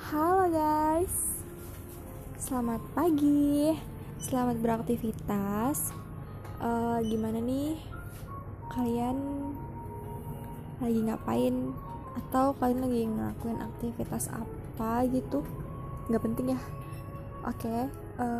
Halo guys, selamat pagi, selamat beraktivitas. Gimana nih? Kalian lagi ngapain? Atau kalian lagi ngelakuin aktivitas apa gitu? Gak penting ya. Oke,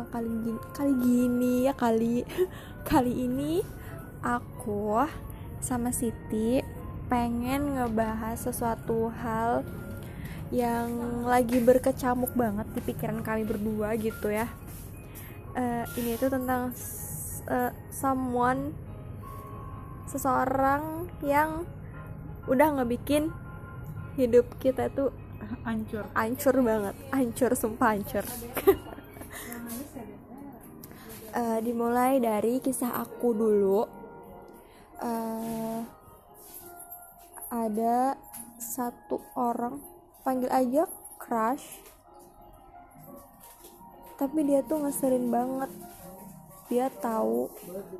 kali ini aku sama Siti pengen ngebahas sesuatu hal yang lagi berkecamuk banget di pikiran kami berdua gitu ya. Ini tuh tentang seseorang yang udah ngebikin hidup kita tuh hancur banget, sumpah hancur. Dimulai dari kisah aku dulu. Ada satu orang, panggil aja crush, tapi dia tuh ngeselin banget. Dia tahu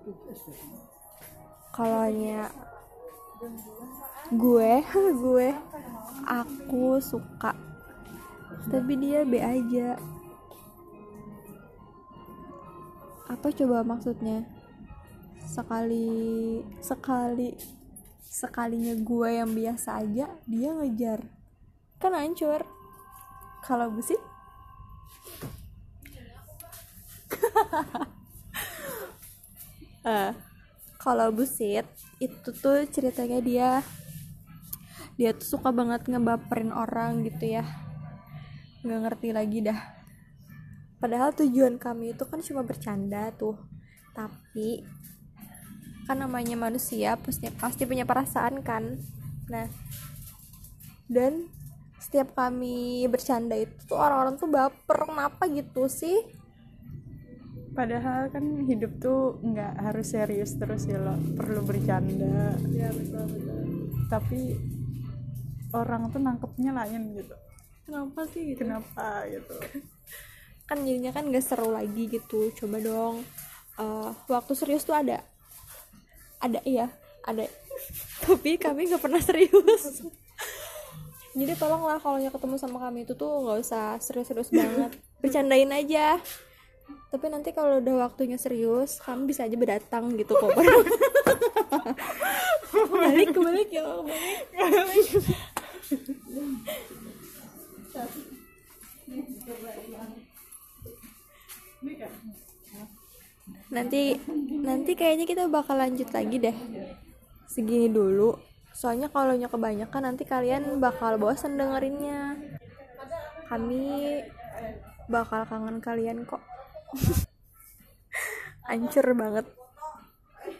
kalaunya aku suka, tapi dia be aja. Apa coba maksudnya? Sekalinya gue yang biasa aja dia ngejar, kan hancur. Kalau busit kalau busit itu tuh ceritanya dia tuh suka banget ngebaperin orang gitu ya, nggak ngerti lagi dah. Padahal tujuan kami itu kan cuma bercanda tuh, tapi kan namanya manusia pasti punya perasaan kan. Nah, dan setiap kami bercanda itu tuh orang-orang tuh baper. Kenapa gitu sih? Padahal kan hidup tuh nggak harus serius terus ya lo, perlu bercanda. Ya betul. Tapi orang tuh nangkepnya lain gitu. Kenapa sih gitu? Kenapa gitu? Kan jadinya kan gak seru lagi gitu. Coba dong, waktu serius tuh ada tapi kami nggak pernah serius. Jadi tolonglah kalau ketemu sama kami itu tuh nggak usah serius-serius banget, bercandain aja. Tapi nanti kalau udah waktunya serius, kami bisa aja berdatang gitu kok. Kebalik ya, kebalik. Nanti kayaknya kita bakal lanjut lagi deh. Segini dulu. Soalnya kalau kebanyakan nanti kalian bakal bosan dengerinnya. Kami bakal kangen kalian kok. Hancur banget.